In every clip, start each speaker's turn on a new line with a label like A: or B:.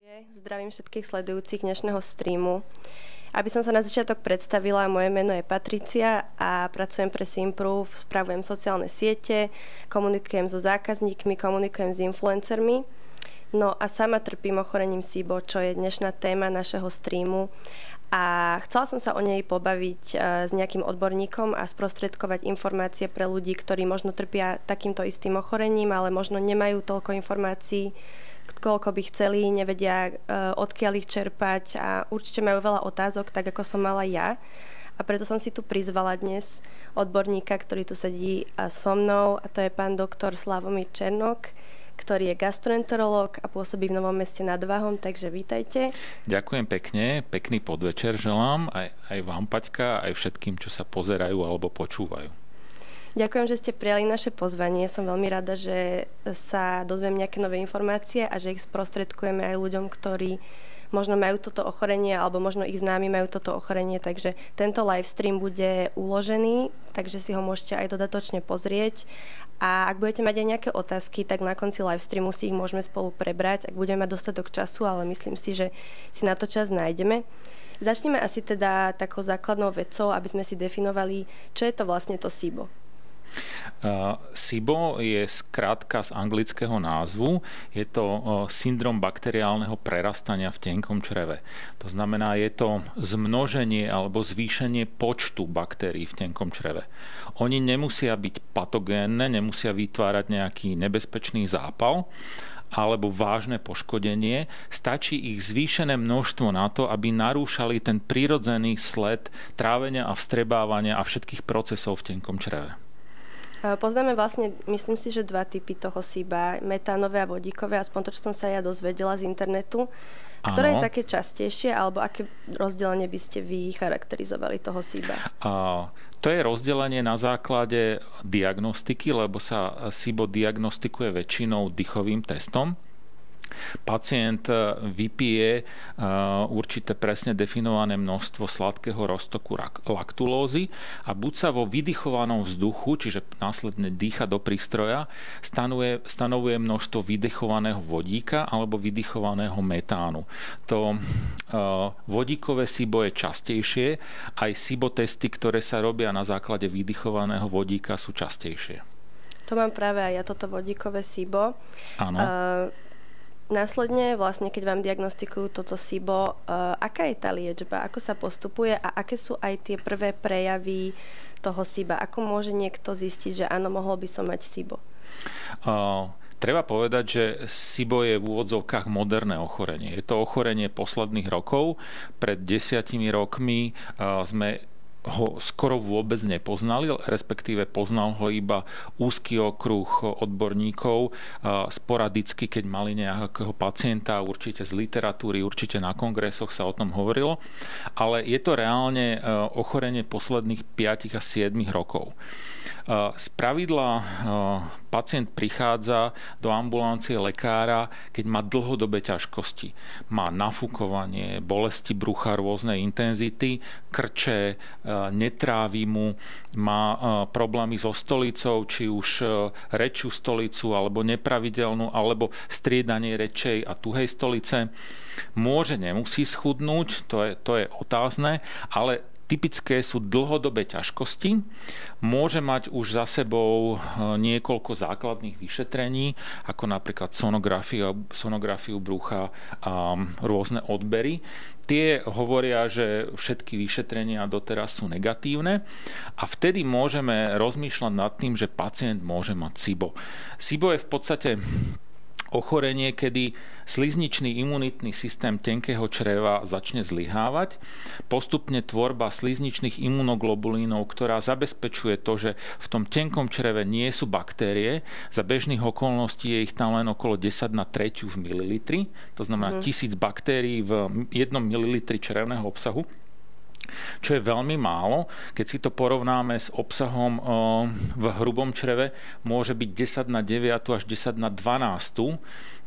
A: Zdravím všetkých sledujúcich dnešného streamu. Aby som sa na začiatok predstavila, moje meno je Patricia a pracujem pre Simprove, spravujem sociálne siete, komunikujem so zákazníkmi, komunikujem s influencermi. No a sama trpím ochorením SIBO, čo je dnešná téma našeho streamu. A chcela som sa o nej pobaviť s nejakým odborníkom a sprostredkovať informácie pre ľudí, ktorí možno trpia takýmto istým ochorením, ale možno nemajú toľko informácií, koľko by chceli, nevedia, odkiaľ ich čerpať a určite majú veľa otázok, tak ako som mala ja. A preto som si tu prizvala dnes odborníka, ktorý tu sedí so mnou, a to je pán doktor Slavomír Černok, ktorý je gastroenterológ a pôsobí v Novom Meste nad Váhom, takže vítajte.
B: Ďakujem pekne, pekný podvečer želám aj vám, Paťka, aj všetkým, čo sa pozerajú alebo počúvajú.
A: Ďakujem, že ste prijali naše pozvanie. Som veľmi rada, že sa dozviem nejaké nové informácie a že ich sprostredkujeme aj ľuďom, ktorí možno majú toto ochorenie alebo možno ich známi majú toto ochorenie. Takže tento live stream bude uložený, takže si ho môžete aj dodatočne pozrieť. A ak budete mať aj nejaké otázky, tak na konci live streamu si ich môžeme spolu prebrať, ak budeme mať dostatok času, ale myslím si, že si na to čas nájdeme. Začneme asi teda takou základnou vecou, aby sme si definovali, čo je to vlastne to SIBO.
B: SIBO je skrátka z anglického názvu. Je to syndrom bakteriálneho prerastania v tenkom čreve. To znamená, je to zmnoženie alebo zvýšenie počtu baktérií v tenkom čreve. Oni nemusia byť patogénne, nemusia vytvárať nejaký nebezpečný zápal alebo vážne poškodenie. Stačí ich zvýšené množstvo na to, aby narúšali ten prirodzený sled trávenia a vstrebávania a všetkých procesov v tenkom čreve.
A: Poznáme vlastne, myslím si, že dva typy toho SIBA, metánové a vodíkové, aspoň to, čo som sa ja dozvedela z internetu. Ktoré je také častejšie, alebo aké rozdelenie by ste vy charakterizovali toho SIBA?
B: To je rozdelenie na základe diagnostiky, lebo sa SIBO diagnostikuje väčšinou dýchovým testom. Pacient vypije určité presne definované množstvo sladkého roztoku laktulózy a buď sa vo vydychovanom vzduchu, čiže následne dýcha do prístroja, stanovuje množstvo vydychovaného vodíka alebo vydychovaného metánu. To vodíkové SIBO je častejšie, aj SIBO testy, ktoré sa robia na základe vydychovaného vodíka, sú častejšie.
A: To mám práve aj ja, toto vodíkové SIBO.
B: Áno.
A: Následne, vlastne, keď vám diagnostikujú toto SIBO, aká je tá liečba, ako sa postupuje a aké sú aj tie prvé prejavy toho SIBA? Ako môže niekto zistiť, že áno, mohol by som mať SIBO?
B: Treba povedať, že SIBO je v úvodzovkách moderné ochorenie. Je to ochorenie posledných rokov. Pred 10 rokmi sme ho skoro vôbec nepoznali, respektíve poznal ho iba úzky okruh odborníkov, sporadicky, keď mali nejakého pacienta, určite z literatúry, určite na kongresoch sa o tom hovorilo, ale je to reálne ochorenie posledných 5 a 7 rokov. Spravidla pacient prichádza do ambulancie lekára, keď má dlhodobé ťažkosti. Má nafúkovanie, bolesti brucha rôznej intenzity, krče, netrávi mu, má problémy so stolicou, či už rečšiu stolicu, alebo nepravidelnú, alebo striedanie rečej a tuhej stolice. Môže, nemusí schudnúť, to je otázne, ale typické sú dlhodobé ťažkosti. Môže mať už za sebou niekoľko základných vyšetrení, ako napríklad sonografiu brucha a rôzne odbery. Tie hovoria, že všetky vyšetrenia doteraz sú negatívne a vtedy môžeme rozmýšľať nad tým, že pacient môže mať SIBO. SIBO je v podstate ochorenie, kedy slizničný imunitný systém tenkého čreva začne zlyhávať. Postupne tvorba slizničných imunoglobulínov, ktorá zabezpečuje to, že v tom tenkom čreve nie sú baktérie. Za bežných okolností je ich tam len okolo 10 na 3 v mililitri. To znamená 1000 baktérií v 1 mililitri črevného obsahu, čo je veľmi málo. Keď si to porovnáme s obsahom v hrubom čreve, môže byť 10 na 9 až 10 na 12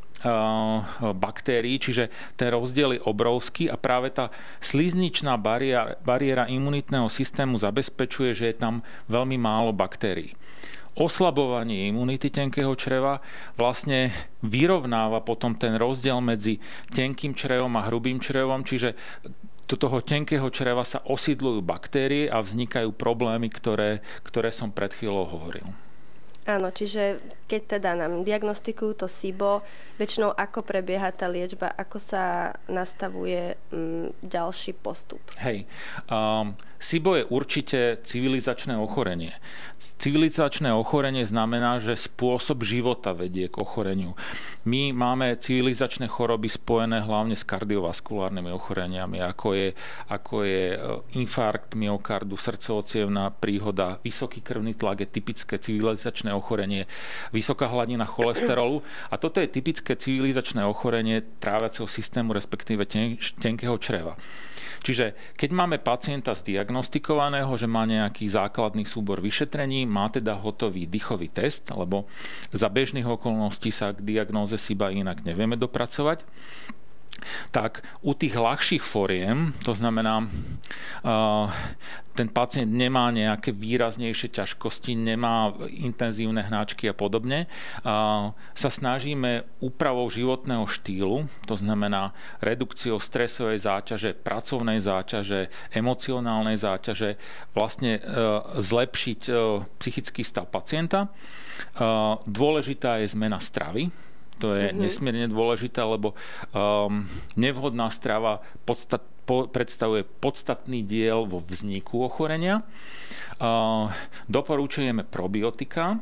B: baktérií, čiže ten rozdiel je obrovský a práve tá slizničná bariéra imunitného systému zabezpečuje, že je tam veľmi málo baktérií. oslabovanie imunity tenkého čreva vlastne vyrovnáva potom ten rozdiel medzi tenkým črevom a hrubým črevom, čiže do toho tenkého čreva sa osídľujú baktérie a vznikajú problémy, ktoré som pred chvíľou hovoril.
A: Áno, čiže keď teda nám diagnostikujú to SIBO, väčšinou ako prebieha tá liečba, ako sa nastavuje ďalší postup?
B: Hej, SIBO je určite civilizačné ochorenie. Civilizačné ochorenie znamená, že spôsob života vedie k ochoreniu. My máme civilizačné choroby spojené hlavne s kardiovaskulárnymi ochoreniami, ako je infarkt myokardu, srdcovo-cievna príhoda, vysoký krvný tlak je typické civilizačné ochorenie, vysoká hladina cholesterolu a toto je typické civilizačné ochorenie tráviaceho systému, respektíve tenkého čreva. Čiže keď máme pacienta zdiagnostikovaného, že má nejaký základný súbor vyšetrení, má teda hotový dýchový test, lebo za bežných okolností sa k diagnóze SIBA inak nevieme dopracovať, tak u tých ľahších foriem, to znamená, ten pacient nemá nejaké výraznejšie ťažkosti, nemá intenzívne hnáčky a podobne, sa snažíme úpravou životného štýlu, to znamená redukciou stresovej záťaže, pracovnej záťaže, emocionálnej záťaže, vlastne zlepšiť psychický stav pacienta. Dôležitá je zmena stravy. To je nesmierne dôležité, lebo nevhodná strava predstavuje podstatný diel vo vzniku ochorenia. Doporučujeme probiotika.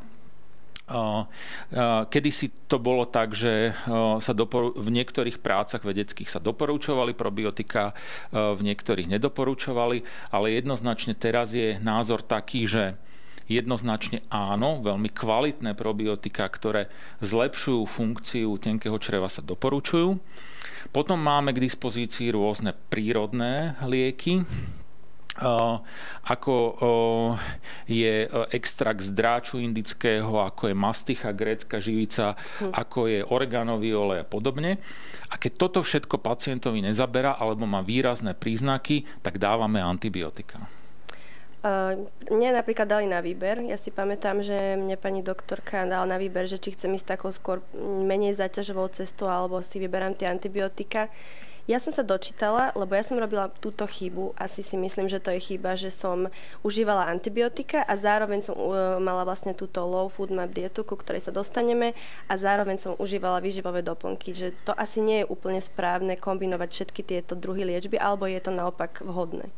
B: Kedysi to bolo tak, že v niektorých prácach vedeckých sa doporučovali probiotika, v niektorých nedoporučovali, ale jednoznačne teraz je názor taký, že jednoznačne áno, veľmi kvalitné probiotika, ktoré zlepšujú funkciu tenkého čreva, sa doporučujú. Potom máme k dispozícii rôzne prírodné lieky, ako je extrakt z dráču indického, ako je masticha, grécka živica, ako je oreganový olej a podobne. A keď toto všetko pacientovi nezaberá alebo má výrazné príznaky, tak dávame antibiotika.
A: Mne napríklad dali na výber. Ja si pamätám, že mne pani doktorka dala na výber, že či chcem ísť takou skôr menej záťažovou cestou alebo si vyberám tie antibiotika. Ja som sa dočítala, lebo ja som robila túto chybu. Asi si myslím, že to je chyba, že som užívala antibiotika a zároveň som mala vlastne túto low food map dietu, ku ktorej sa dostaneme, a zároveň som užívala výživové doplnky. Že to asi nie je úplne správne kombinovať všetky tieto druhy liečby, alebo je to naopak vhodné?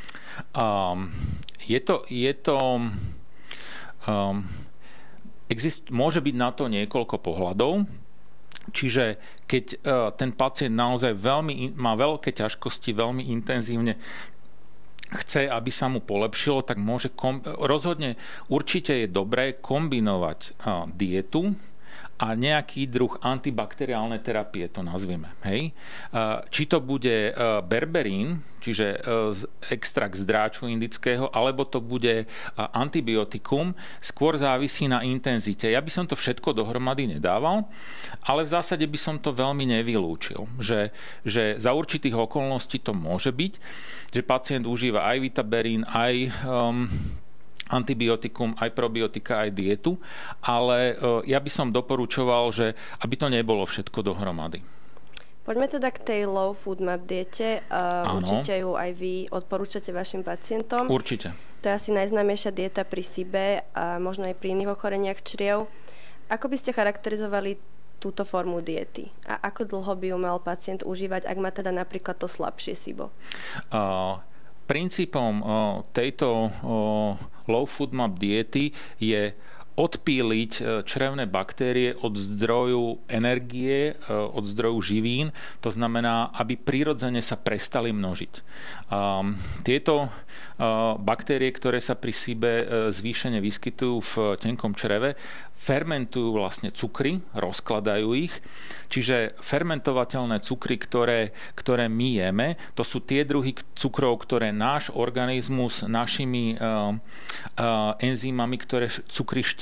B: Môže byť na to niekoľko pohľadov. Čiže keď ten pacient naozaj má veľké ťažkosti, veľmi intenzívne chce, aby sa mu polepšilo, tak rozhodne určite je dobré kombinovať dietu a nejaký druh antibakteriálnej terapie, to nazvieme. Hej? Či to bude berberín, čiže extrakt z dráču indického, alebo to bude antibiotikum, skôr závisí na intenzite. Ja by som to všetko dohromady nedával, ale v zásade by som to veľmi nevylúčil. Že za určitých okolností to môže byť, že pacient užíva aj vitaberín, aj antibiotikum, aj probiotika, aj dietu, ale ja by som doporučoval, že aby to nebolo všetko dohromady.
A: Poďme teda k tej low food map diete. Určite ju aj vy odporúčate vašim pacientom.
B: Určite.
A: To je asi najznámejšia dieta pri SIBE a možno aj pri iných ochoreniach čriev. Ako by ste charakterizovali túto formu diety? A ako dlho by ju mal pacient užívať, ak má teda napríklad to slabšie SIBO?
B: Princípom tejto low food map diety je odpíliť črevné baktérie od zdroju energie, od zdroju živín. To znamená, aby prirodzene sa prestali množiť. Tieto baktérie, ktoré sa pri SIBE zvýšene vyskytujú v tenkom čreve, fermentujú vlastne cukry, rozkladajú ich. Čiže fermentovateľné cukry, ktoré my jeme, to sú tie druhy cukrov, ktoré náš organizmus našimi enzymami, ktoré cukry štiepi,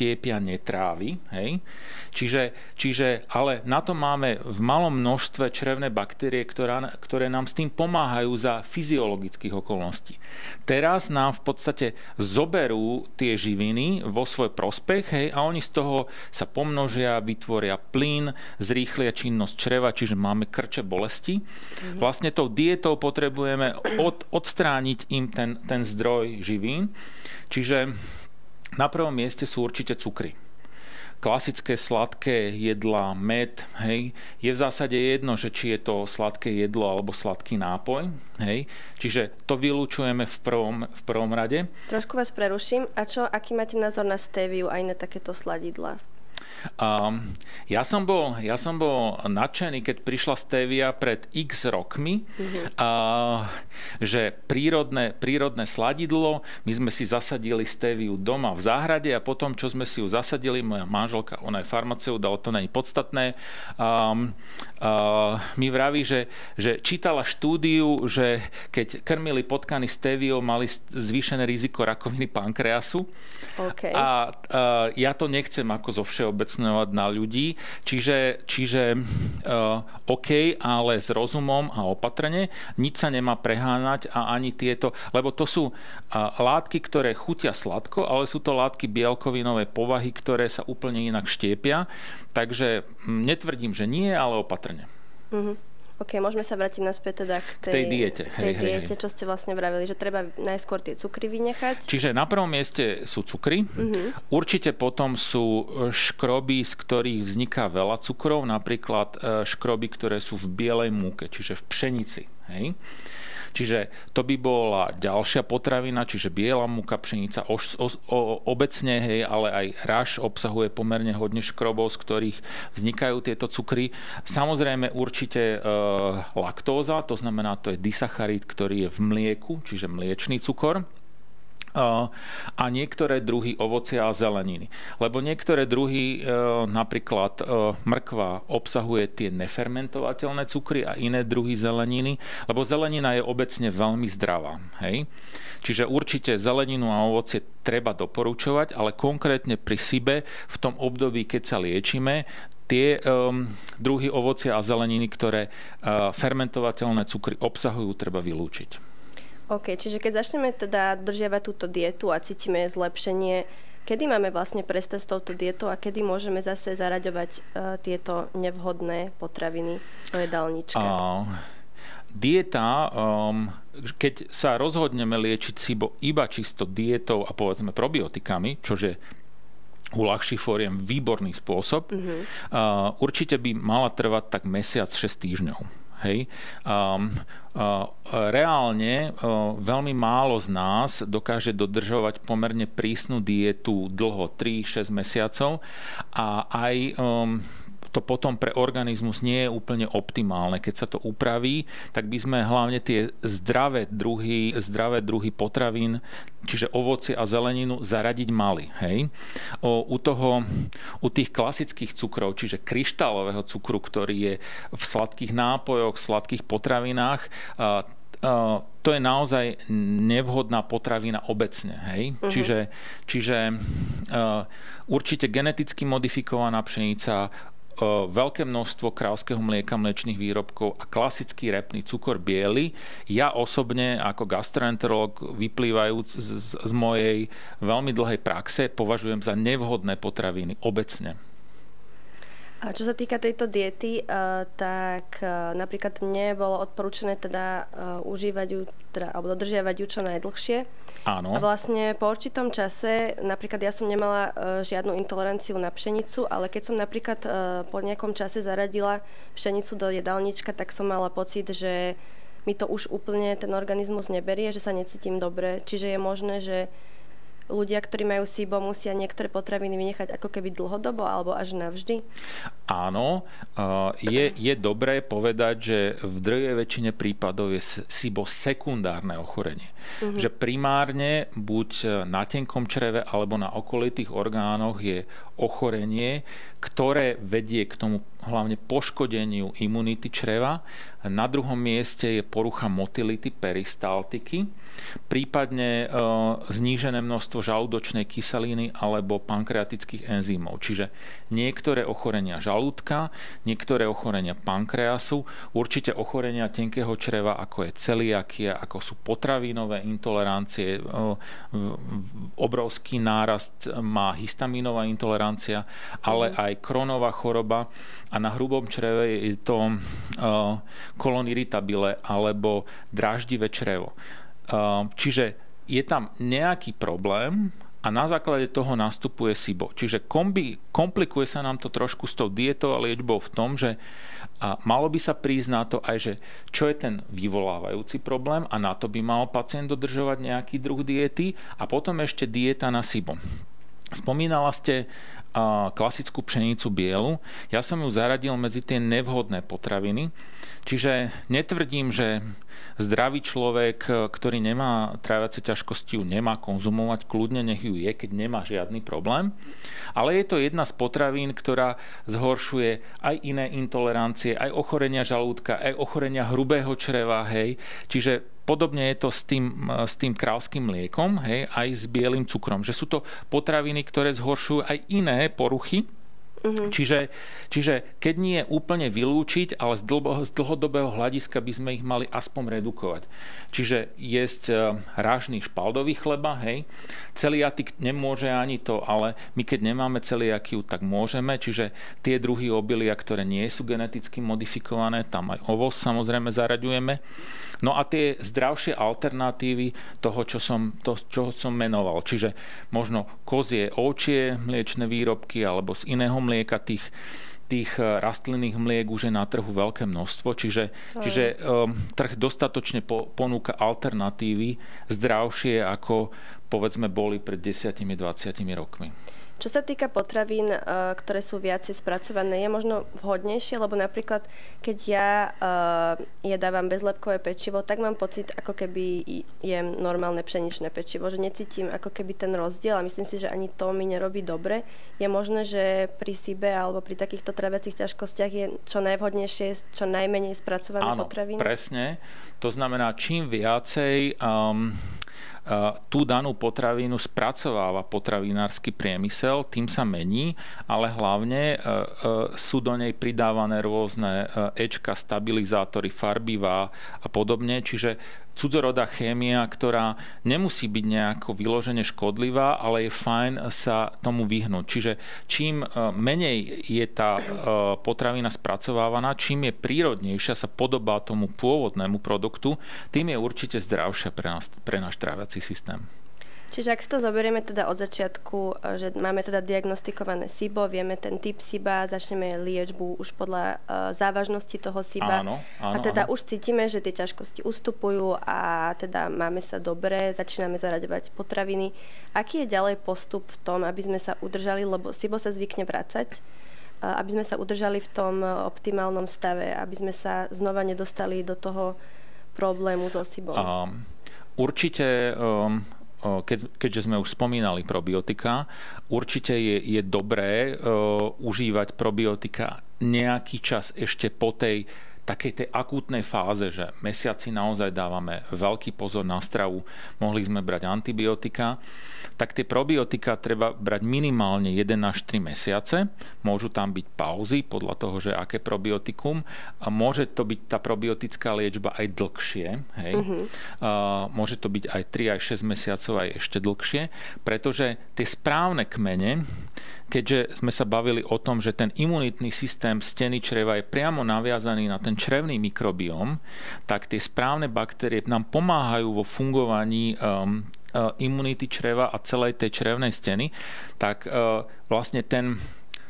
B: štiepia, netrávi. Hej? Čiže, ale na to máme v malom množstve črevné baktérie, ktoré nám s tým pomáhajú za fyziologických okolností. Teraz nám v podstate zoberú tie živiny vo svoj prospech, hej, a oni z toho sa pomnožia, vytvoria plyn, zrýchlia činnosť čreva, čiže máme krče bolesti. Vlastne tou dietou potrebujeme odstrániť im ten zdroj živín. Čiže na prvom mieste sú určite cukry. Klasické sladké jedlá, med, hej, je v zásade jedno, že či je to sladké jedlo alebo sladký nápoj, hej, čiže to vylúčujeme v prvom rade.
A: Trošku vás preruším. A aký máte názor na stéviu a iné takéto sladidlá?
B: Ja som bol nadšený, keď prišla stevia pred x rokmi, že prírodné sladidlo, my sme si zasadili steviu doma v záhrade a potom, čo sme si ju zasadili, moja manželka, ona je farmaceut, ale to nie je podstatné, mi vraví, že čítala štúdiu, že keď krmili potkany steviou, mali zvýšené riziko rakoviny pankreasu.
A: Okay.
B: A ja to nechcem ako zo všeobecňovať na ľudí, čiže OK, ale s rozumom a opatrne, nič sa nemá preháňať a ani tieto, lebo to sú látky, ktoré chutia sladko, ale sú to látky bielkovinovej povahy, ktoré sa úplne inak štiepia, takže netvrdím, že nie, ale opatrne.
A: OK, môžeme sa vrátiť naspäť teda k tej diete. Hej. Čo ste vlastne vravili, že treba najskôr tie cukry vynechať.
B: Čiže na prvom mieste sú cukry. Určite potom sú škroby, z ktorých vzniká veľa cukrov, napríklad škroby, ktoré sú v bielej múke, čiže v pšenici. Hej. Čiže to by bola ďalšia potravina, čiže biela múka, pšenica obecne, hej, ale aj raž obsahuje pomerne hodne škrobov, z ktorých vznikajú tieto cukry. Samozrejme určite laktóza, to znamená, to je disacharid, ktorý je v mlieku, čiže mliečný cukor. A niektoré druhy ovocia a zeleniny. Lebo niektoré druhy, napríklad mrkva, obsahuje tie nefermentovateľné cukry a iné druhy zeleniny, lebo zelenina je obecne veľmi zdravá. Hej? Čiže určite zeleninu a ovocie treba doporučovať, ale konkrétne pri SIBE v tom období, keď sa liečime, tie druhy ovocia a zeleniny, ktoré fermentovateľné cukry obsahujú, treba vylúčiť.
A: OK, čiže keď začneme teda dodržiavať túto dietu a cítime zlepšenie, kedy máme vlastne prestať s touto dietou a kedy môžeme zase zaraďovať tieto nevhodné potraviny do jedálnička?
B: Dieta, keď sa rozhodneme liečiť SIBO iba čisto dietou a povedzme probiotikami, čo je u ľahších fóriem výborný spôsob, určite by mala trvať tak mesiac, 6 týždňov. Hej. Reálne veľmi málo z nás dokáže dodržovať pomerne prísnu dietu dlho, 3-6 mesiacov a aj to potom pre organizmus nie je úplne optimálne. Keď sa to upraví, tak by sme hlavne tie zdravé druhy potravín, čiže ovocie a zeleninu, zaradiť mali. Hej? U tých klasických cukrov, čiže kryštálového cukru, ktorý je v sladkých nápojoch, sladkých potravinách, to je naozaj nevhodná potravina obecne. Hej? Čiže určite geneticky modifikovaná pšenica, veľké množstvo kráľovského mlieka, mliečnych výrobkov a klasický repný cukor biely. Ja osobne ako gastroenterológ, vyplývajúc z mojej veľmi dlhej praxe, považujem za nevhodné potraviny obecne.
A: A čo sa týka tejto diety, tak napríklad mne bolo odporúčené teda užívať ju, alebo dodržiavať ju čo najdlhšie.
B: Áno.
A: A vlastne po určitom čase, napríklad ja som nemala žiadnu intoleranciu na pšenicu, ale keď som napríklad po nejakom čase zaradila pšenicu do jedálnička, tak som mala pocit, že mi to už úplne ten organizmus neberie, že sa necítim dobre. Čiže je možné, že ľudia, ktorí majú SIBO, musia niektoré potraviny vynechať ako keby dlhodobo alebo až navždy?
B: Áno, je dobré povedať, že v drvivej väčšine prípadov je SIBO sekundárne ochorenie. Že primárne buď na tenkom čreve alebo na okolitých orgánoch je ochorenie, ktoré vedie k tomu hlavne poškodeniu imunity čreva. Na druhom mieste je porucha motility peristaltiky, prípadne znížené množstvo žalúdočnej kyseliny alebo pankreatických enzymov. Čiže niektoré ochorenia žalúdka, niektoré ochorenia pankreasu, určite ochorenia tenkého čreva, ako je celiakia, ako sú potravinové intolerancie, obrovský nárast má histamínová intolerancia, ale aj Crohnova choroba a na hrubom čreve je to colon irritabile alebo dráždivé črevo. Čiže je tam nejaký problém a na základe toho nastupuje SIBO. Čiže komplikuje sa nám to trošku s tou dietou a liečbou v tom, že malo by sa prísť na to aj, že čo je ten vyvolávajúci problém a na to by mal pacient dodržovať nejaký druh diety a potom ešte dieta na SIBO. Spomínala ste klasickú pšenicu bielu. Ja som ju zaradil medzi tie nevhodné potraviny. Čiže netvrdím, že zdravý človek, ktorý nemá tráviace ťažkosti, ju nemá konzumovať, kľudne nech ju je, keď nemá žiadny problém. Ale je to jedna z potravín, ktorá zhoršuje aj iné intolerancie, aj ochorenia žalúdka, aj ochorenia hrubého čreva, hej. Čiže podobne je to s tým kráľským mliekom, hej, aj s bielým cukrom. Že sú to potraviny, ktoré zhoršujú aj iné poruchy. Čiže keď nie úplne vylúčiť, ale z dlhodobého hľadiska by sme ich mali aspoň redukovať. Čiže jesť rážny špaldový chleba, hej. Celiatik nemôže ani to, ale my keď nemáme celiakiu, tak môžeme. Čiže tie druhy obilia, ktoré nie sú geneticky modifikované, tam aj ovoz samozrejme zaraďujeme. No a tie zdravšie alternatívy toho, čo som menoval. Čiže možno kozie, ovčie mliečne výrobky alebo z iného mlieka tých rastlinných mliek už je na trhu veľké množstvo. Čiže trh dostatočne ponúka alternatívy zdravšie, ako povedzme boli pred 10-20 rokmi.
A: Čo sa týka potravín, ktoré sú viacej spracované, je možno vhodnejšie, lebo napríklad, keď ja jedávam bezlepkové pečivo, tak mám pocit, ako keby jem normálne pšeničné pečivo, že necítim ako keby ten rozdiel a myslím si, že ani to mi nerobí dobre. Je možné, že pri SIBE alebo pri takýchto traviacich ťažkostiach je čo najvhodnejšie, čo najmenej spracované potraviny? Áno,
B: presne. To znamená, čím viacej tú danú potravinu spracováva potravinársky priemysel, tým sa mení, ale hlavne sú do nej pridávané rôzne éčka, stabilizátory, farbivá a podobne, čiže cudzorodá chémia, ktorá nemusí byť nejako vyložene škodlivá, ale je fajn sa tomu vyhnúť. Čiže čím menej je tá potravina spracovávaná, čím je prírodnejšia, sa podobá tomu pôvodnému produktu, tým je určite zdravšia pre náš tráviaci systém.
A: Čiže ak si to zoberieme teda od začiatku, že máme teda diagnostikované SIBO, vieme ten typ SIBA, začneme liečbu už podľa závažnosti toho SIBA.
B: Áno,
A: a teda už cítime, že tie ťažkosti ustupujú a teda máme sa dobre, začíname zaraďovať potraviny. Aký je ďalej postup v tom, aby sme sa udržali, lebo SIBO sa zvykne vracať, aby sme sa udržali v tom optimálnom stave, aby sme sa znova nedostali do toho problému so SIBom?
B: Určite keďže sme už spomínali probiotika, určite je dobré užívať probiotika nejaký čas ešte po tej takej tej akútnej fáze, že mesiaci naozaj dávame veľký pozor na stravu, mohli sme brať antibiotika, tak tie probiotika treba brať minimálne 1 až 3 mesiace. Môžu tam byť pauzy podľa toho, že aké probiotikum. A môže to byť tá probiotická liečba aj dlhšie. Hej? Môže to byť aj 3 až 6 mesiacov, aj ešte dlhšie, pretože tie správne kmene, keďže sme sa bavili o tom, že ten imunitný systém steny čreva je priamo naviazaný na ten črevný mikrobióm, tak tie správne baktérie nám pomáhajú vo fungovaní imunity čreva a celej tej črevnej steny, tak vlastne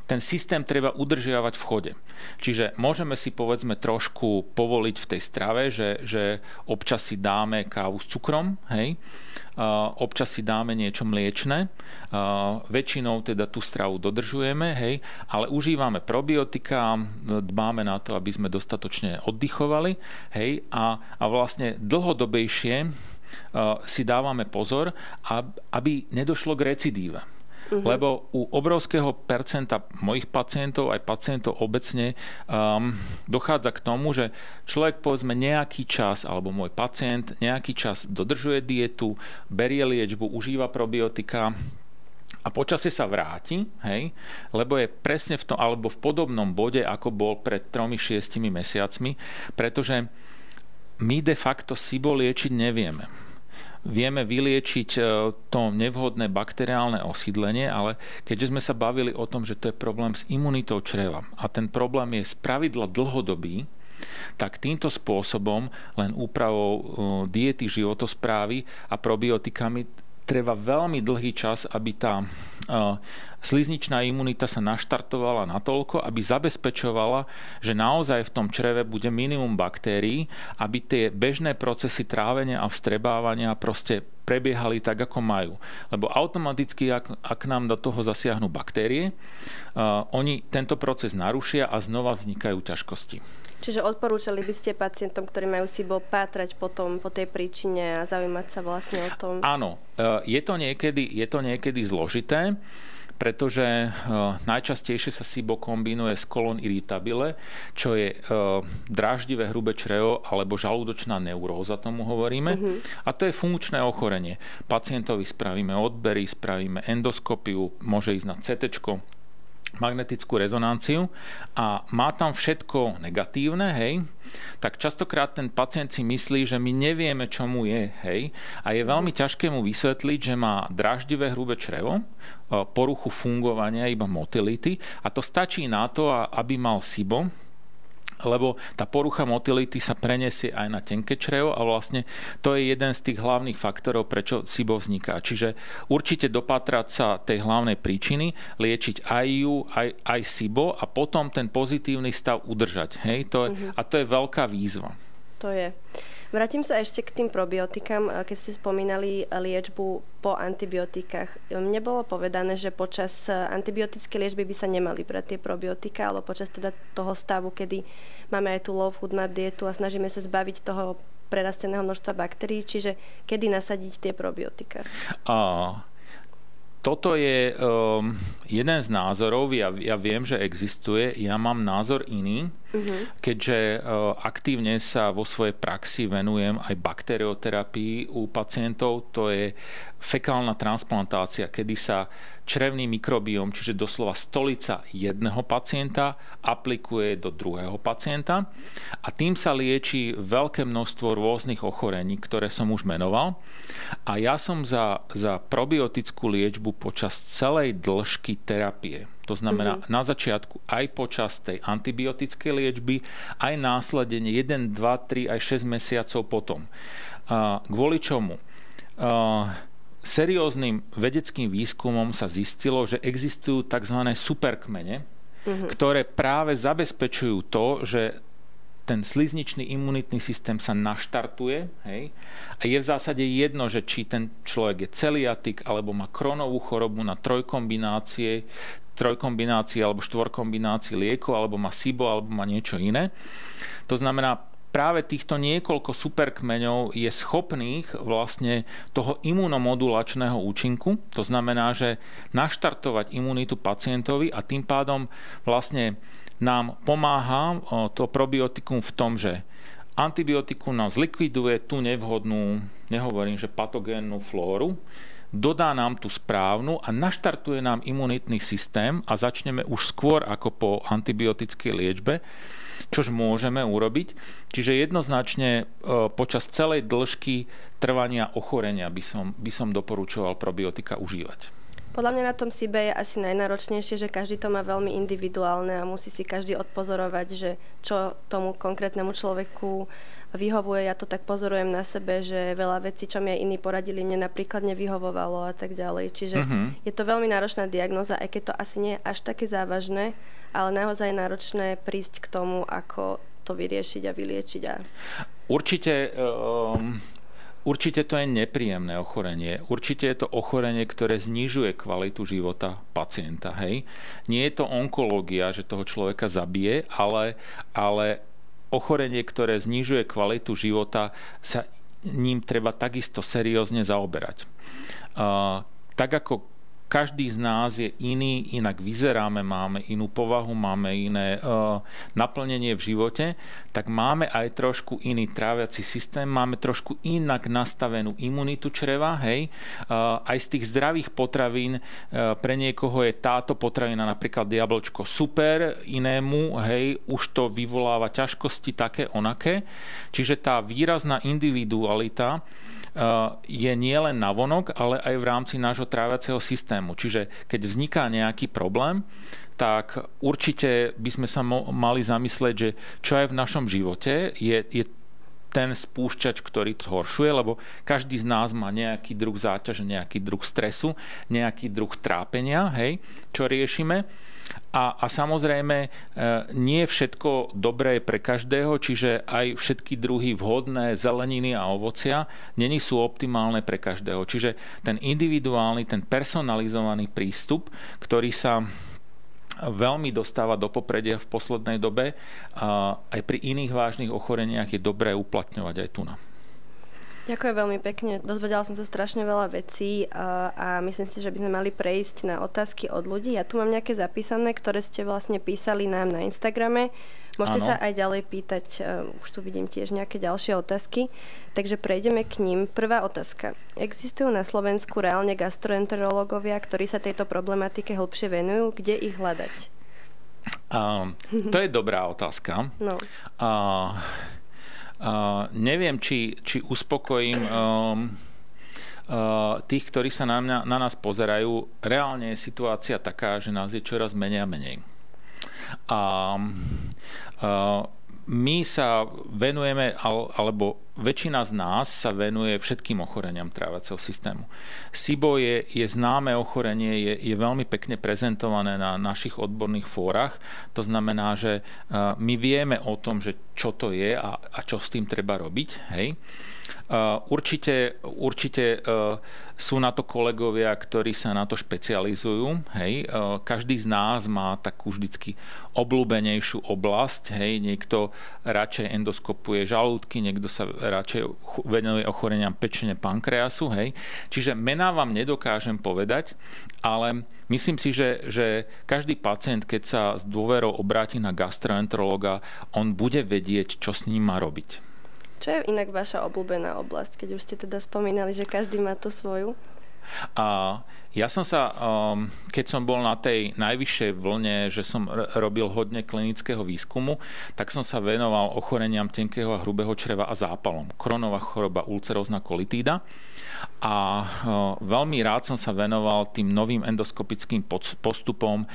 B: ten systém treba udržiavať v chode. Čiže môžeme si povedzme trošku povoliť v tej strave, že občas si dáme kávu s cukrom, hej? Občas si dáme niečo mliečne, väčšinou teda tú stravu dodržujeme, hej? Ale užívame probiotika, dbáme na to, aby sme dostatočne oddychovali, hej? A vlastne dlhodobejšie si dávame pozor, aby nedošlo k recidíve. Lebo u obrovského percenta mojich pacientov, aj pacientov obecne, dochádza k tomu, že človek povedzme nejaký čas, alebo môj pacient nejaký čas dodržuje dietu, berie liečbu, užíva probiotika a počasie sa vráti, hej, lebo je presne v tom, alebo v podobnom bode, ako bol pred 3-6 mesiacmi, pretože my de facto SIBO liečiť nevieme. Vieme vyliečiť to nevhodné bakteriálne osídlenie, ale keďže sme sa bavili o tom, že to je problém s imunitou čreva a ten problém je spravidla dlhodobý, tak týmto spôsobom len úpravou diety, životosprávy a probiotikami treba veľmi dlhý čas, aby tá slizničná imunita sa naštartovala natoľko, aby zabezpečovala, že naozaj v tom čreve bude minimum baktérií, aby tie bežné procesy trávenia a vstrebávania proste prebiehali tak, ako majú. Lebo automaticky, ak nám do toho zasiahnu baktérie, oni tento proces narušia a znova vznikajú ťažkosti.
A: Čiže odporúčali by ste pacientom, ktorí majú SIBO, pátrať potom po tej príčine a zaujímať sa vlastne o tom?
B: Áno, je to niekedy zložité, pretože najčastejšie sa SIBO kombinuje s colon irritabile, čo je dráždivé hrubé črevo alebo žalúdočná neuróza, tomu hovoríme. A to je funkčné ochorenie. Pacientovi spravíme odbery, spravíme endoskopiu, môže ísť na CT, magnetickú rezonanciu a má tam všetko negatívne, hej, tak častokrát ten pacient si myslí, že my nevieme, čo mu je, hej, a je veľmi ťažké mu vysvetliť, že má dráždivé hrubé črevo, poruchu fungovania, iba motility, a to stačí na to, aby mal SIBO, lebo tá porucha motility sa preniesie aj na tenké črevo a vlastne to je jeden z tých hlavných faktorov, prečo SIBO vzniká. Čiže určite dopatrať sa tej hlavnej príčiny, liečiť aj ju, aj SIBO a potom ten pozitívny stav udržať. Hej? A to je veľká výzva.
A: To je. Vrátim sa ešte k tým probiotikám. Keď ste spomínali liečbu po antibiotikách, mne bolo povedané, že počas antibiotickej liečby by sa nemali brať tie probiotika, alebo počas teda toho stavu, kedy máme aj tú low food map dietu a snažíme sa zbaviť toho prerasteného množstva baktérií, čiže kedy nasadiť tie probiotika?
B: Toto je jeden z názorov, ja viem, že existuje, ja mám názor iný, keďže aktívne sa vo svojej praxi venujem aj bakterioterapii u pacientov, to je fekálna transplantácia, kedy sa črevný mikrobióm, čiže doslova stolica jedného pacienta, aplikuje do druhého pacienta a tým sa lieči veľké množstvo rôznych ochorení, ktoré som už menoval. A ja som za probiotickú liečbu počas celej dĺžky terapie. To znamená na začiatku aj počas tej antibiotickej liečby, aj následne 1, 2, 3, aj 6 mesiacov potom. Kvôli čomu? Serióznym vedeckým výskumom sa zistilo, že existujú tzv. Superkmene, ktoré práve zabezpečujú to, že ten slizničný imunitný systém sa naštartuje, hej, a je v zásade jedno, že či ten človek je celiatik, alebo má Crohnovú chorobu na trojkombinácie alebo štvorkombinácii liekov, alebo má SIBO, alebo má niečo iné. To znamená, práve týchto niekoľko superkmeňov je schopných vlastne toho imunomodulačného účinku. To znamená, že naštartovať imunitu pacientovi a tým pádom vlastne nám pomáha to probiotikum v tom, že antibiotikum nám zlikviduje tú nevhodnú, nehovorím, že patogénnu flóru, dodá nám tú správnu a naštartuje nám imunitný systém a začneme už skôr ako po antibiotickej liečbe, čož môžeme urobiť. Čiže jednoznačne počas celej dĺžky trvania ochorenia by som doporučoval probiotika užívať.
A: Podľa mňa na tom SIBE je asi najnáročnejšie, že každý to má veľmi individuálne a musí si každý odpozorovať, že čo tomu konkrétnemu človeku vyhovuje. Ja to tak pozorujem na sebe, že veľa vecí, čo mi aj iní poradili, mne napríklad nevyhovovalo a tak ďalej. Čiže je to veľmi náročná diagnóza, aj keď to asi nie je až také závažné, ale naozaj náročné prísť k tomu, ako to vyriešiť a vyliečiť.
B: Určite to je nepríjemné ochorenie. Určite je to ochorenie, ktoré znižuje kvalitu života pacienta. Hej? Nie je to onkológia, že toho človeka zabije, ale ochorenie, ktoré znižuje kvalitu života, sa ním treba takisto seriózne zaoberať. Tak ako každý z nás je iný, inak vyzeráme, máme inú povahu, máme iné naplnenie v živote, tak máme aj trošku iný tráviaci systém, máme trošku inak nastavenú imunitu čreva, hej. Aj z tých zdravých potravín pre niekoho je táto potravina, napríklad jablčko, super, inému, hej, už to vyvoláva ťažkosti také, onaké. Čiže tá výrazná individualita je nielen navonok, ale aj v rámci nášho tráviaceho systému. Čiže keď vzniká nejaký problém, tak určite by sme sa mali zamyslieť, že čo aj v našom živote je ten spúšťač, ktorý to zhoršuje, lebo každý z nás má nejaký druh záťaže, nejaký druh stresu, nejaký druh trápenia, hej, čo riešime. A samozrejme, nie všetko dobré je pre každého, čiže aj všetky druhy vhodné zeleniny a ovocia není sú optimálne pre každého. Čiže ten individuálny, ten personalizovaný prístup, ktorý sa veľmi dostáva do popredia v poslednej dobe, a aj pri iných vážnych ochoreniach je dobré uplatňovať aj tu na.
A: Ďakujem veľmi pekne. Dozvedela som sa strašne veľa vecí a myslím si, že by sme mali prejsť na otázky od ľudí. Ja tu mám nejaké zapísané, ktoré ste vlastne písali nám na Instagrame. Môžete sa aj ďalej pýtať, už tu vidím tiež nejaké ďalšie otázky, takže prejdeme k ním. Prvá otázka. Existujú na Slovensku reálne gastroenterológovia, ktorí sa tejto problematike hĺbšie venujú? Kde ich hľadať?
B: To je dobrá otázka.
A: No.
B: Neviem, či uspokojím tých, ktorí sa na nás pozerajú. Reálne je situácia taká, že nás je čoraz menej a menej. My sa venujeme, alebo väčšina z nás sa venuje všetkým ochoreniam tráviaceho systému. SIBO je známe ochorenie, je veľmi pekne prezentované na našich odborných fórach. To znamená, že my vieme o tom, že čo to je a čo s tým treba robiť. Hej. Určite sú na to kolegovia, ktorí sa na to špecializujú. Hej. Každý z nás má takú vždycky obľúbenejšiu oblasť. Hej. Niekto radšej endoskopuje žalúdky, niekto sa radšej venuje ochoreniam pečene, pankreasu. Hej. Čiže mená vám nedokážem povedať, ale myslím si, že každý pacient, keď sa s dôverou obráti na gastroenterologa, on bude vedieť, čo s ním má robiť.
A: Čo je inak vaša obľúbená oblasť, keď už ste teda spomínali, že každý má to svoju?
B: Ja som sa, keď som bol na tej najvyššej vlne, že som robil hodne klinického výskumu, tak som sa venoval ochoreniam tenkého a hrubého čreva a zápalom. Crohnova choroba, ulcerózna kolitída. A veľmi rád som sa venoval tým novým endoskopickým postupom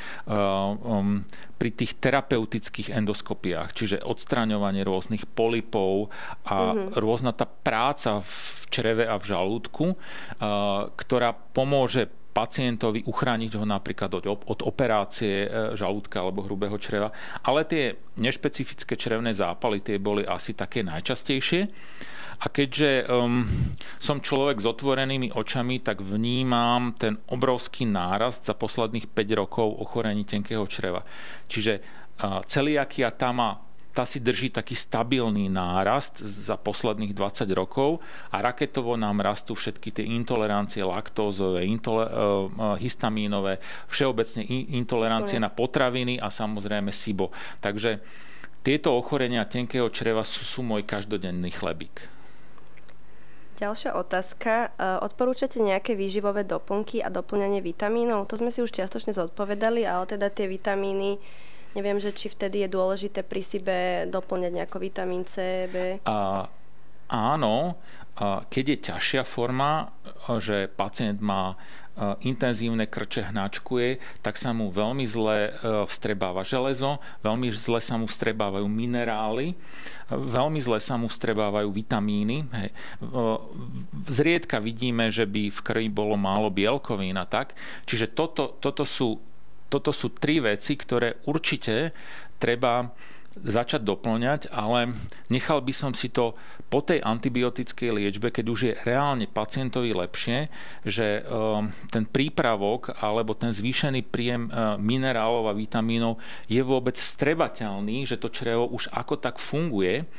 B: pri tých terapeutických endoskopiách, čiže odstraňovanie rôznych polypov a rôzna tá práca v čreve a v žalúdku, ktorá pomôže pacientovi uchrániť ho napríklad od operácie žalúdka alebo hrubého čreva. Ale tie nešpecifické črevné zápaly, tie boli asi také najčastejšie. A keďže som človek s otvorenými očami, tak vnímam ten obrovský nárast za posledných 5 rokov ochorení tenkého čreva. Čiže celiakia tá si drží taký stabilný nárast za posledných 20 rokov a raketovo nám rastú všetky tie intolerancie laktózové, histamínové, všeobecne intolerancie na potraviny a samozrejme SIBO. Takže tieto ochorenia tenkého čreva sú môj každodenný chlebík.
A: Ďalšia otázka. Odporúčate nejaké výživové doplnky a doplňanie vitamínov? To sme si už čiastočne zodpovedali, ale teda tie vitamíny, neviem, že či vtedy je dôležité pri SIBE doplňať nejako vitamín C, B?
B: Áno, keď je ťažšia forma, že pacient má intenzívne krče hnačkuje, tak sa mu veľmi zle vstrebáva železo, veľmi zle sa mu vstrebávajú minerály, veľmi zle sa mu vstrebávajú vitamíny. Hej. Zriedka vidíme, že by v krvi bolo málo bielkovín a tak. Čiže toto sú tri veci, ktoré určite treba začať doplňať, ale nechal by som si to po tej antibiotickej liečbe, keď už je reálne pacientovi lepšie, že ten prípravok alebo ten zvýšený príjem minerálov a vitamínov je vôbec vstrebateľný, že to črevo už ako tak funguje,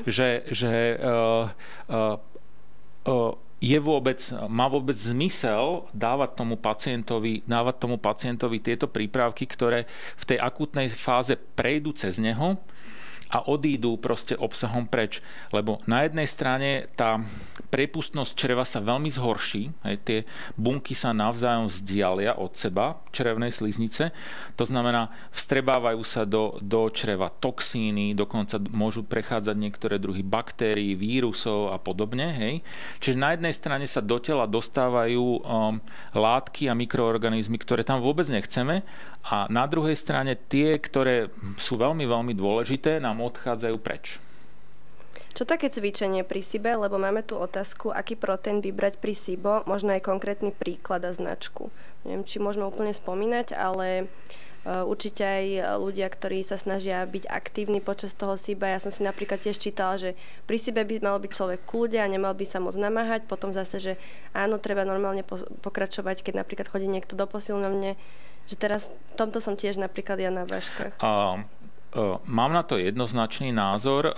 B: má vôbec zmysel dávať tomu pacientovi tieto prípravky, ktoré v tej akútnej fáze prejdú cez neho a odídu proste obsahom preč. Lebo na jednej strane tá priepustnosť čreva sa veľmi zhorší, tie bunky sa navzájom vzdialia od seba, črevnej sliznice, to znamená, vstrebávajú sa do čreva toxíny, dokonca môžu prechádzať niektoré druhy baktérií, vírusov a podobne. Hej. Čiže na jednej strane sa do tela dostávajú látky a mikroorganizmy, ktoré tam vôbec nechceme, a na druhej strane tie, ktoré sú veľmi, veľmi dôležité, nám odchádzajú preč.
A: Čo také cvičenie pri SIBO, lebo máme tu otázku, aký proteín vybrať pri SIBO, možno aj konkrétny príklad a značku. Neviem, či môžeme úplne spomínať, ale určite aj ľudia, ktorí sa snažia byť aktívni počas toho SIBA. Ja som si napríklad tiež čítala, že pri SIBE by mal byť človek v kľude a nemal by sa moc namáhať. Potom zase, že áno, treba normálne pokračovať, keď napríklad chodí niekto do posilňovne. Že teraz v tomto som tiež napríklad ja na vážkach.
B: Mám na to jednoznačný názor.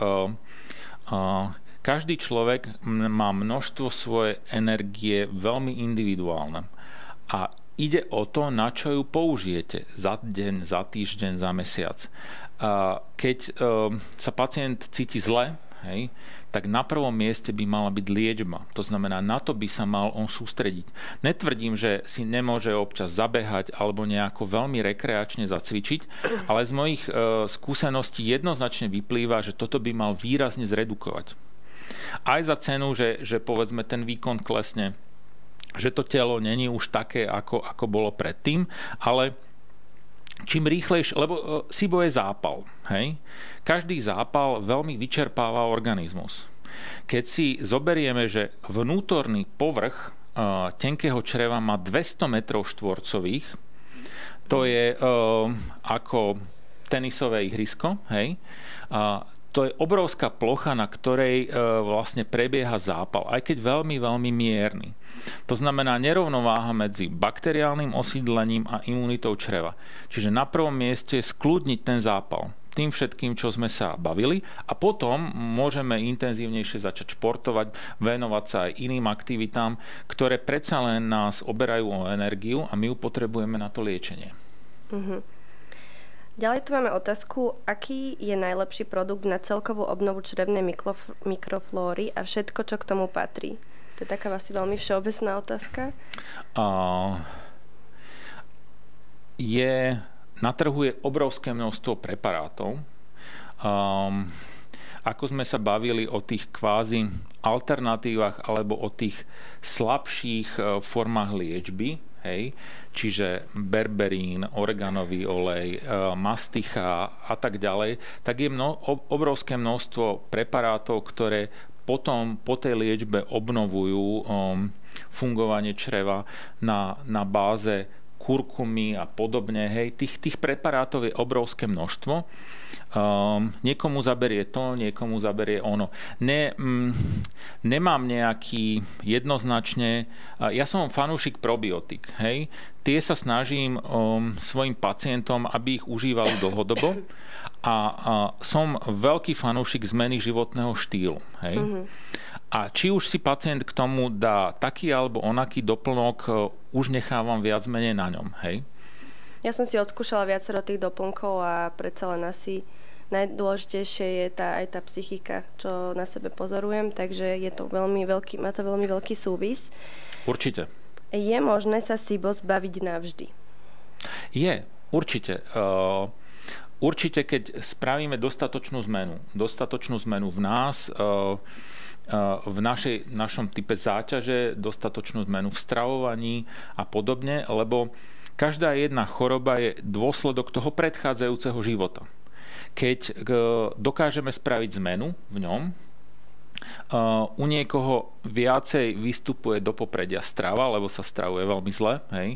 B: Každý človek má množstvo svojej energie veľmi individuálne. A ide o to, na čo ju použijete za deň, za týždeň, za mesiac. Keď sa pacient cíti zle, hej, tak na prvom mieste by mala byť liečba. To znamená, na to by sa mal on sústrediť. Netvrdím, že si nemôže občas zabehať alebo nejako veľmi rekreačne zacvičiť, ale z mojich skúseností jednoznačne vyplýva, že toto by mal výrazne zredukovať. Aj za cenu, že povedzme ten výkon klesne, že to telo není už také, ako bolo predtým, ale čím rýchlejšie, lebo SIBO je zápal. Hej? Každý zápal veľmi vyčerpáva organizmus. Keď si zoberieme, že vnútorný povrch tenkého čreva má 200 metrov štvorcových, to je ako tenisové ihrisko, hej? To je obrovská plocha, na ktorej vlastne prebieha zápal, aj keď veľmi, veľmi mierny. To znamená nerovnováha medzi bakteriálnym osídlením a imunitou čreva. Čiže na prvom mieste skľudniť ten zápal tým všetkým, čo sme sa bavili, a potom môžeme intenzívnejšie začať športovať, venovať sa aj iným aktivitám, ktoré predsa len nás oberajú o energiu a my ju potrebujeme na to liečenie.
A: Ďalej tu máme otázku, aký je najlepší produkt na celkovú obnovu črevnej mikroflóry a všetko, čo k tomu patrí. To je taká asi veľmi všeobecná otázka.
B: Na trhu je obrovské množstvo preparátov. Ako sme sa bavili o tých kvázi alternatívach alebo o tých slabších formách liečby, hej, čiže berberín, oreganový olej, masticha a tak ďalej, tak je obrovské množstvo preparátov, ktoré potom po tej liečbe obnovujú fungovanie čreva na báze kurkumy a podobne. Hej, tých preparátov je obrovské množstvo. Niekomu zaberie to, niekomu zaberie ono. Nemám nejaký jednoznačne... Ja som fanúšik probiotik. Hej. Tie sa snažím svojim pacientom, aby ich užívali dlhodobo. A som veľký fanúšik zmeny životného štýlu. Hej. A či už si pacient k tomu dá taký alebo onaký doplnok, už nechávam viac menej na ňom. Hej.
A: Ja som si odskúšala viacero tých doplnkov a predsa len asi najdôležitejšie je aj tá psychika, čo na sebe pozorujem, takže je to má to veľmi veľký súvis.
B: Určite.
A: Je možné sa SIBO zbaviť navždy?
B: Je, určite. Určite, keď spravíme dostatočnú zmenu v nás, v našom type záťaže, dostatočnú zmenu v stravovaní a podobne, lebo každá jedna choroba je dôsledok toho predchádzajúceho života. Keď dokážeme spraviť zmenu v ňom, u niekoho viacej vystupuje do popredia strava, lebo sa stravuje veľmi zle, hej.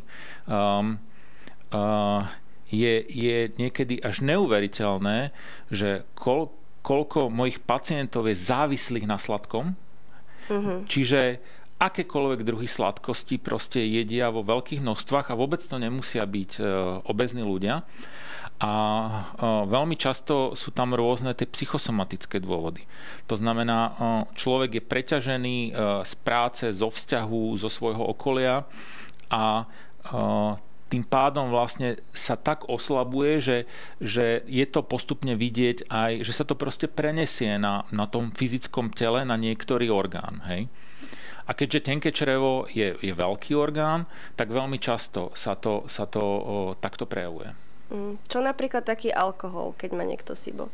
B: Je niekedy až neuveriteľné, že koľko mojich pacientov je závislých na sladkom. Čiže akékoľvek druhy sladkosti proste jedia vo veľkých množstvách a vôbec to nemusia byť obézní ľudia. A veľmi často sú tam rôzne tie psychosomatické dôvody. To znamená, človek je preťažený z práce, zo vzťahu, zo svojho okolia a tým pádom vlastne sa tak oslabuje, že je to postupne vidieť aj, že sa to proste prenesie na tom fyzickom tele, na niektorý orgán. Hej? A keďže tenké črevo je veľký orgán, tak veľmi často sa to takto prejavuje.
A: Čo napríklad taký alkohol, keď má niekto SIBO?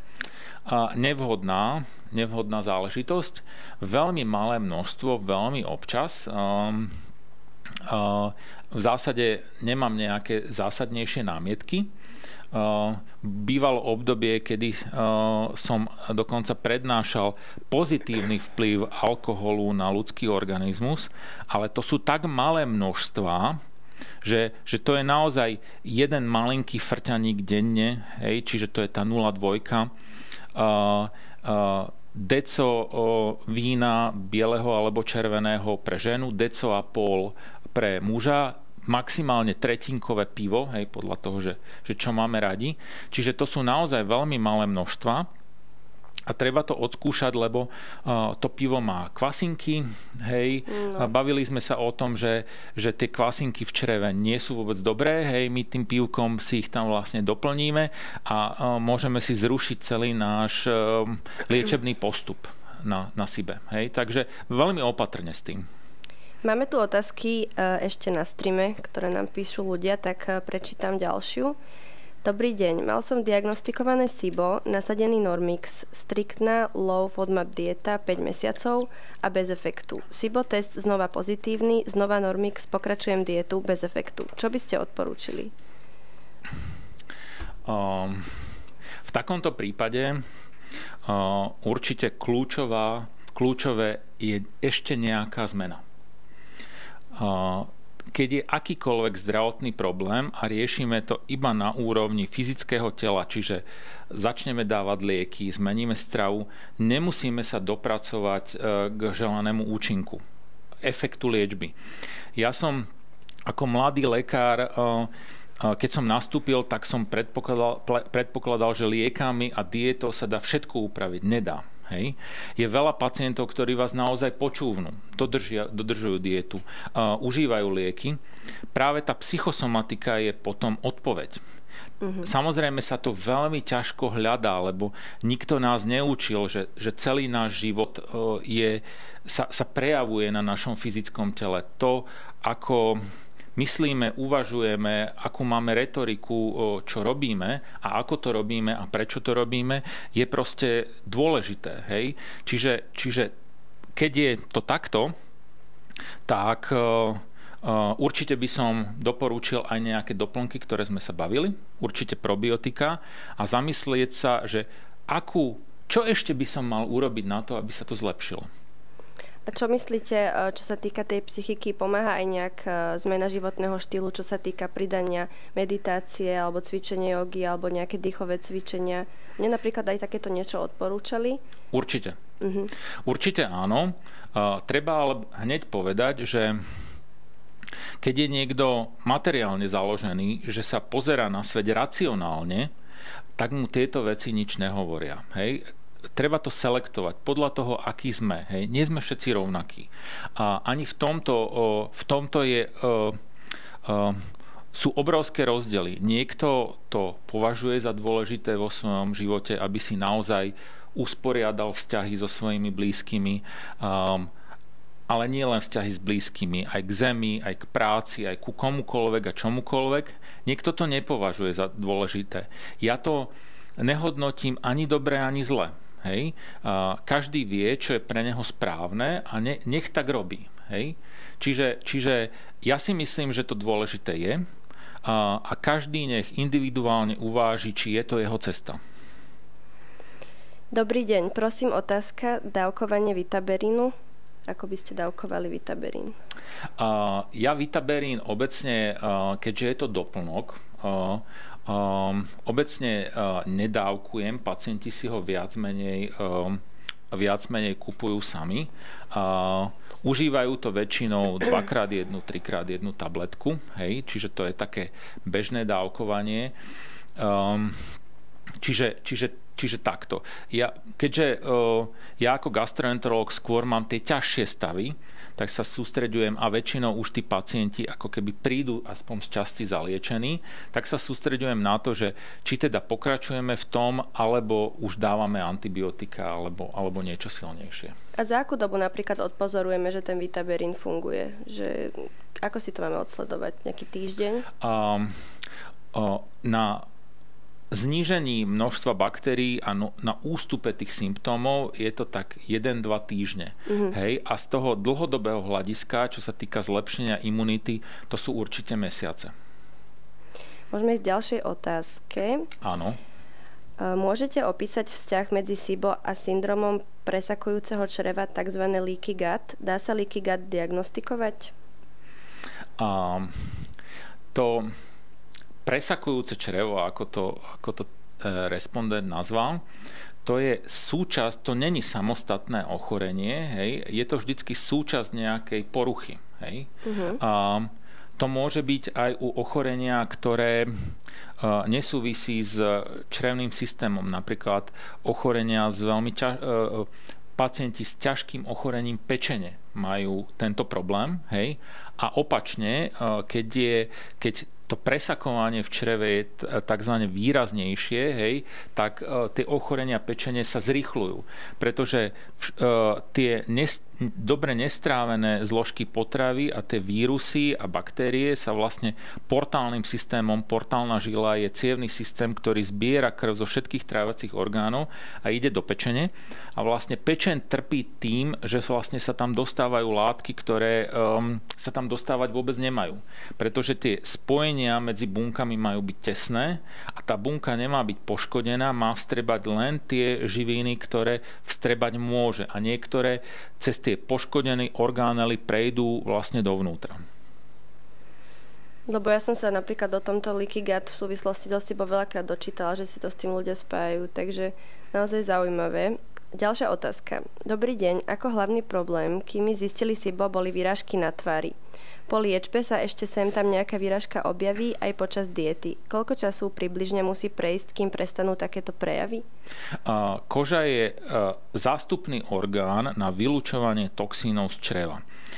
B: Nevhodná záležitosť. Veľmi malé množstvo, veľmi občas. V zásade nemám nejaké zásadnejšie námietky. Bývalo obdobie, kedy som dokonca prednášal pozitívny vplyv alkoholu na ľudský organizmus, ale to sú tak malé množstvá, že to je naozaj jeden malinký frťaník denne, hej, čiže to je tá 0,2. Deco vína bieleho alebo červeného pre ženu, deco a pol pre muža, maximálne tretinkové pivo, hej, podľa toho, že čo máme radi. Čiže to sú naozaj veľmi malé množstva a treba to odskúšať, lebo to pivo má kvasinky, hej. No. Bavili sme sa o tom, že tie kvasinky v čreve nie sú vôbec dobré, hej, my tým pivkom si ich tam vlastne doplníme a môžeme si zrušiť celý náš liečebný postup na SIBE, hej. Takže veľmi opatrne s tým.
A: Máme tu otázky ešte na streame, ktoré nám píšu ľudia, tak prečítam ďalšiu. Dobrý deň, mal som diagnostikované SIBO, nasadený Normix, striktná low FODMAP dieta 5 mesiacov a bez efektu. SIBO test znova pozitívny, znova Normix, pokračujem dietu bez efektu. Čo by ste odporúčili?
B: V takomto prípade určite kľúčové je ešte nejaká zmena. Keď je akýkoľvek zdravotný problém a riešime to iba na úrovni fyzického tela, čiže začneme dávať lieky, zmeníme stravu, nemusíme sa dopracovať k želanému účinku, efektu liečby. Ja som ako mladý lekár, keď som nastúpil, tak som predpokladal, že liekami a dietou sa dá všetko upraviť. Nedá. Hej. Je veľa pacientov, ktorí vás naozaj počúvnu, dodržujú dietu, užívajú lieky. Práve tá psychosomatika je potom odpoveď. Samozrejme sa to veľmi ťažko hľadá, lebo nikto nás neučil, že celý náš život sa prejavuje na našom fyzickom tele. To, ako myslíme, uvažujeme, akú máme retoriku, čo robíme a ako to robíme a prečo to robíme, je proste dôležité. Hej? Čiže keď je to takto, tak určite by som doporučil aj nejaké doplnky, ktoré sme sa bavili, určite probiotika a zamyslieť sa, že čo ešte by som mal urobiť na to, aby sa to zlepšilo.
A: A čo myslíte, čo sa týka tej psychiky, pomáha aj nejak zmena životného štýlu, čo sa týka pridania meditácie alebo cvičenie jogy alebo nejaké dýchové cvičenia? Mne napríklad aj takéto niečo odporúčali?
B: Určite. Určite áno. Treba ale hneď povedať, že keď je niekto materiálne založený, že sa pozerá na svet racionálne, tak mu tieto veci nič nehovoria. Hej? Treba to selektovať podľa toho, aký sme. Hej. Nie sme všetci rovnakí. A ani v tomto sú obrovské rozdiely. Niekto to považuje za dôležité vo svojom živote, aby si naozaj usporiadal vzťahy so svojimi blízkymi, ale nie len vzťahy s blízkymi, aj k zemi, aj k práci, aj ku komukoľvek a čomukoľvek. Niekto to nepovažuje za dôležité. Ja to nehodnotím ani dobre, ani zle. Hej? Každý vie, čo je pre neho správne a nech tak robí. Hej? Čiže ja si myslím, že to dôležité je a každý nech individuálne uváži, či je to jeho cesta.
A: Dobrý deň, prosím otázka, dávkovanie Vitaberínu. Ako by ste dávkovali Vitaberín?
B: Ja Vitaberín obecne, keďže je to doplnok, obecne nedávkujem, pacienti si ho viac menej kupujú sami. Užívajú to väčšinou 2x1, 3x1 tabletku, hej? Čiže to je také bežné dávkovanie. Čiže takto. Keďže ja ako gastroenterológ skôr mám tie ťažšie stavy, tak sa sústreďujem a väčšinou už tí pacienti ako keby prídu aspoň z časti zaliečení, tak sa sústreďujem na to, že či teda pokračujeme v tom, alebo už dávame antibiotika alebo niečo silnejšie.
A: A za akú dobu napríklad odpozorujeme, že ten Vitaberín funguje? Že, ako si to máme odsledovať? Nejaký týždeň?
B: Na znížení množstva baktérií a na ústupe tých symptómov je to tak 1-2 týždne. Hej? A z toho dlhodobého hľadiska, čo sa týka zlepšenia imunity, to sú určite mesiace.
A: Môžeme ísť k ďalšej otázke.
B: Áno.
A: Môžete opísať vzťah medzi SIBO a syndromom presakujúceho čreva, tzv. Leaky gut? Dá sa leaky gut diagnostikovať?
B: To presakujúce črevo, ako to respondent nazval, to je súčasť, to není samostatné ochorenie, hej, je to vždycky súčasť nejakej poruchy. Hej. To môže byť aj u ochorenia, ktoré nesúvisí s črevným systémom, napríklad ochorenia s veľmi pacienti s ťažkým ochorením pečene majú tento problém, hej, a opačne, keď to presakovanie v čreve je takzvané výraznejšie, hej, tak tie ochorenia pečene sa zrýchľujú, pretože tie dobre nestrávené zložky potravy a tie vírusy a baktérie sa vlastne portálnym systémom, portálna žila je cievny systém, ktorý zbiera krv zo všetkých trávacích orgánov a ide do pečene a vlastne pečeň trpí tým, že vlastne sa tam dostávajú látky, ktoré sa tam dostávať vôbec nemajú, pretože tie spojenia medzi bunkami majú byť tesné a tá bunka nemá byť poškodená, má vstrebať len tie živiny, ktoré vstrebať môže a niektoré cez tie poškodené orgánely prejdú vlastne dovnútra.
A: Lebo ja som sa napríklad o tomto leaky gut v súvislosti so SIBO veľakrát dočítala, že si to s tým ľudia spájajú, takže naozaj zaujímavé. Ďalšia otázka. Dobrý deň, ako hlavný problém, kým mi zistili SIBO, boli výražky na tvári. Po liečbe sa ešte sem tam nejaká výražka objaví aj počas diety. Koľko času približne musí prejsť, kým prestanú takéto prejavy?
B: Koža je zástupný orgán na vylučovanie toxínov z čreva.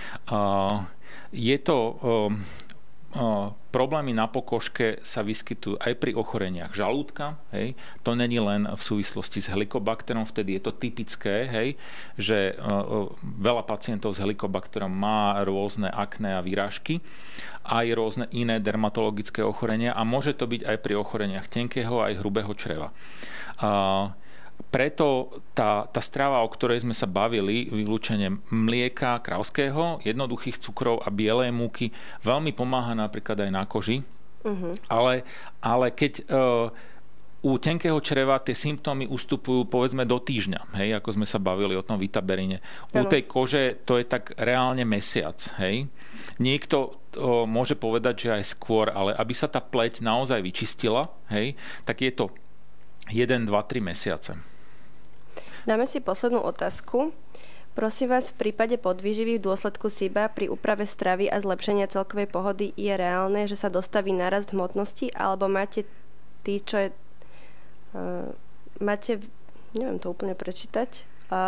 B: Je to problémy na pokožke sa vyskytujú aj pri ochoreniach žalúdka. Hej. To není len v súvislosti s helikobakterom, vtedy je to typické, hej, že veľa pacientov s helikobakterom má rôzne akné a výražky, aj rôzne iné dermatologické ochorenia a môže to byť aj pri ochoreniach tenkého aj hrubého čreva. Preto tá strava, o ktorej sme sa bavili, vylúčenie mlieka kravského, jednoduchých cukrov a bielej múky, veľmi pomáha napríklad aj na koži. Ale keď u tenkého čreva tie symptómy ustupujú povedzme do týždňa, hej, ako sme sa bavili o tom Vitaberíne. U tej kože to je tak reálne mesiac. Hej. Niekto môže povedať, že aj skôr, ale aby sa tá pleť naozaj vyčistila, hej, tak je to 1, 2, 3 mesiace.
A: Dáme si poslednú otázku. Prosím vás, v prípade podvýživy v dôsledku SIBA pri úprave stravy a zlepšenia celkovej pohody je reálne, že sa dostaví nárast hmotnosti, alebo máte neviem to úplne prečítať,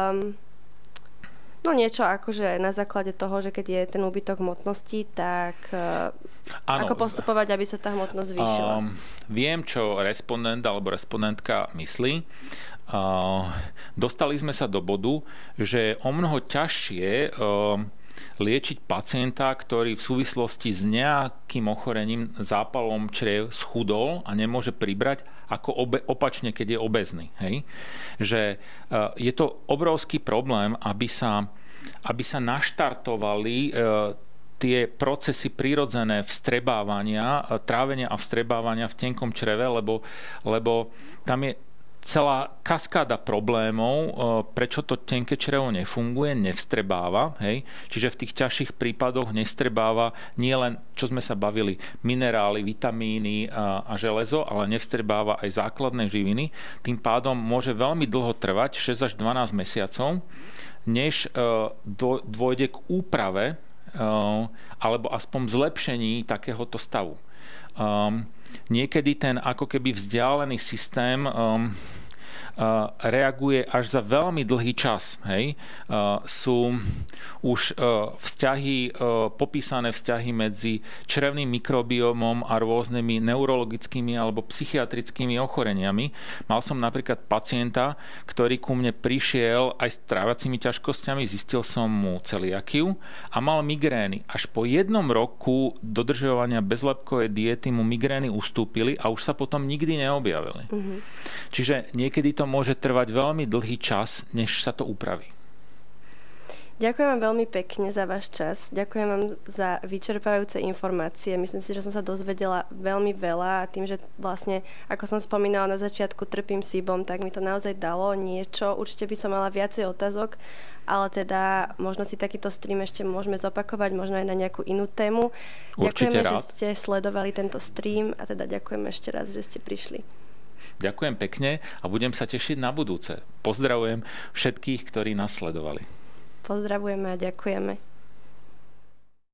A: niečo akože na základe toho, že keď je ten úbytok hmotnosti, tak ako postupovať, aby sa tá hmotnosť zvýšila?
B: Viem, čo respondent alebo respondentka myslí. Dostali sme sa do bodu, že je o mnoho ťažšie liečiť pacienta, ktorý v súvislosti s nejakým ochorením, zápalom čriev schudol a nemôže pribrať, ako opačne, keď je obézny. Hej? Že je to obrovský problém, aby sa naštartovali tie procesy prirodzené vstrebávania, trávenia a vstrebávania v tenkom čreve, lebo tam je celá kaskáda problémov, prečo to tenké črevo nefunguje, nevstrebáva. Hej? Čiže v tých ťažších prípadoch nevstrebáva nie len, čo sme sa bavili, minerály, vitamíny a železo, ale nevstrebáva aj základné živiny. Tým pádom môže veľmi dlho trvať, 6 až 12 mesiacov, než dôjde k úprave alebo aspoň zlepšení takéhoto stavu. Niekedy ten ako keby vzdialený systém reaguje až za veľmi dlhý čas. Hej? Sú už popísané vzťahy medzi črevným mikrobiomom a rôznymi neurologickými alebo psychiatrickými ochoreniami. Mal som napríklad pacienta, ktorý ku mne prišiel aj s trávacími ťažkosťami, zistil som mu celiakiu a mal migrény. Až po 1 roku dodržovania bezlepkovej diety mu migrény ustúpili a už sa potom nikdy neobjavili. Mm-hmm. Čiže niekedy to môže trvať veľmi dlhý čas, než sa to upraví.
A: Ďakujem vám veľmi pekne za váš čas. Ďakujem vám za vyčerpávajúce informácie. Myslím si, že som sa dozvedela veľmi veľa a tým, že vlastne, ako som spomínala na začiatku, trpím SIBom, tak mi to naozaj dalo niečo. Určite by som mala viacej otázok, ale teda možno si takýto stream ešte môžeme zopakovať, možno aj na nejakú inú tému.
B: Určite
A: ďakujeme,
B: rád.
A: že ste sledovali tento stream a teda ďakujem ešte raz, že ste prišli.
B: Ďakujem pekne a budem sa tešiť na budúce. Pozdravujem všetkých, ktorí nás sledovali.
A: Pozdravujeme a ďakujeme.